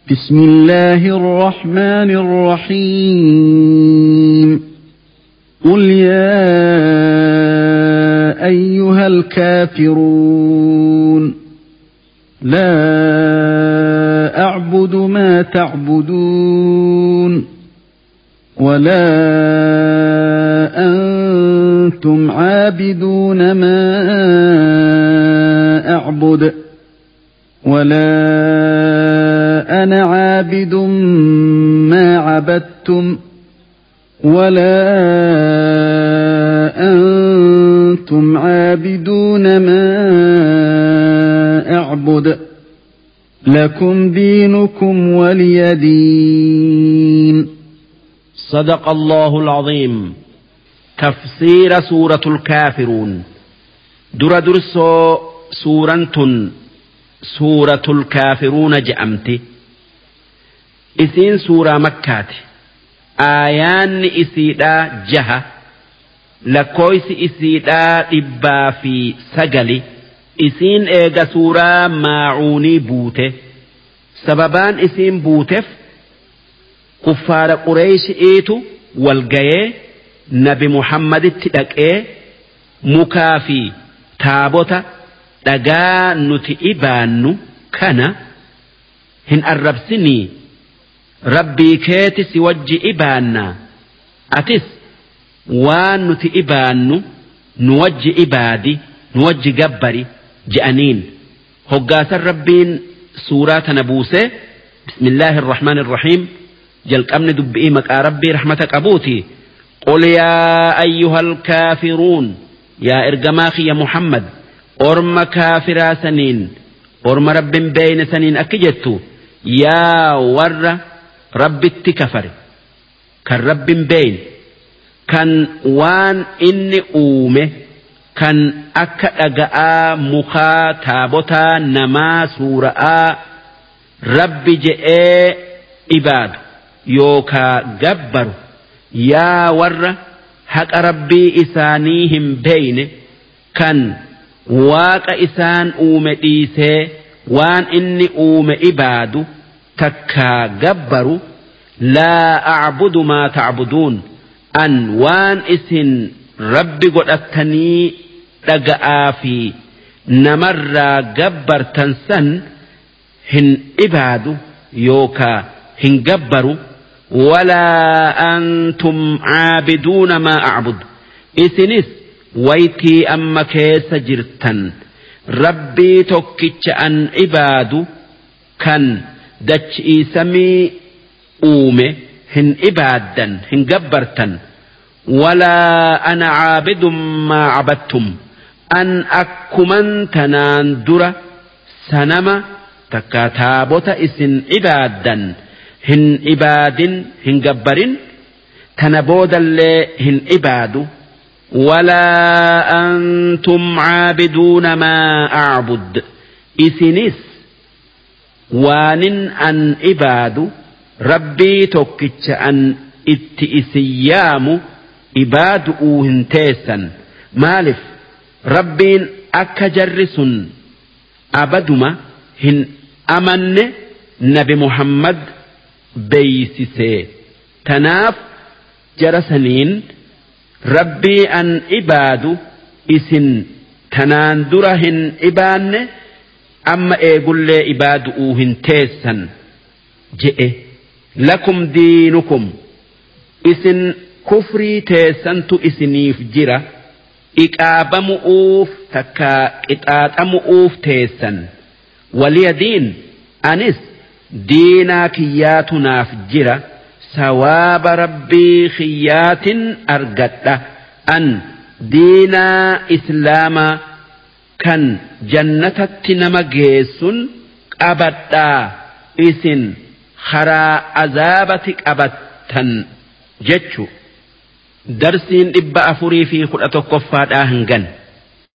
بسم الله الرحمن الرحيم قل يا أيها الكافرون لا أعبد ما تعبدون ولا أنتم عابدون ما أعبد ولا أنا عابد ما عبدتم ولا أنتم عابدون ما أعبد لكم دينكم ولي دين. صدق الله العظيم. تفسير سورة الكافرون. درسو سورة الكافرون جأمتي إسين سورة مكة آيان إسيدا جهة لكويس إسيدا إبا في سجلي إسين إيغا سورة ماعوني بوته سببان إسين بوتف كفار قريش إيتو والغيه نبي محمد تدك مكافي تابوتا dhagaa nuti ibaannu kana hin arrabsinii rabbii keeti si wajji ibaanna atis waan nuti ibaannu nu wajji ibaadi nu wajji gabbari je'aniin hoggaasan rabbiin suuraa tana buuse bismillaahi irrahmaani irrahiim jalqabni dubbi'ii maqaa rabbii rahmata qabuuti qul yaa ayyuhal kaafiruun yaa ergamaa kiyya muhammad orma kaafiraa saniin orma rabbin beeyne saniin akki jettu yaa warra rabbitti kafare kan rabbin beeyne kan waan inni uume kan akka dhaga'aa mukaa taabotaa namaa suura'aa rabbi je'ee ibaadu yookaa gabbaru yaa warra haqa rabbii isaanii hin beeyne kan waaqa isaan uume dhiisee waan inni uume ibaadu takkaa gabbaru laa a'budu maa ta'buduun an waan isin rabbi godhattanii dhaga'aa fi namarraa gabbartan san hin ibaadu yookaa hin gabbaru walaa antum caabiduuna maa a'bud isinis waytii amma keessa jirtan rabbii tokkicha an ibaadu kan dachii samii uume hin ibaaddan hin gabbartan walaa ana caabidun maa cabattum an akkuman tanaan dura sanama takka taabota isin ibaaddan hin ibaadin hin gabbarin tana boodallee hin ibaadu ولا أنتم عابدون ما أعبد إسنس وان أن إباد ربي توكتش أن إتئسيام إباد أوهنتيسا مالف ربين أكجرس أبدما هن أمن نبي محمد بيسسي تناف جرسنين rabbii an ibaadu isin tanaan dura hin ibaanne amma eegullee ibaadu'uu hin teessan je'e lakum diinukum isin kufrii teessantu isiniif jira iqaabamu'uuf takkaa qixaaxamu'uuf teessan waliya diin anis diinaa kiyyaatu naaf jira ثواب ربي خيات أرقد أن دينا إسلاما كان جنة نمجيس أبدا إسن خرا عذابتك أبدا جتشو درسين إبا أفري في خلطة كفات آهنغن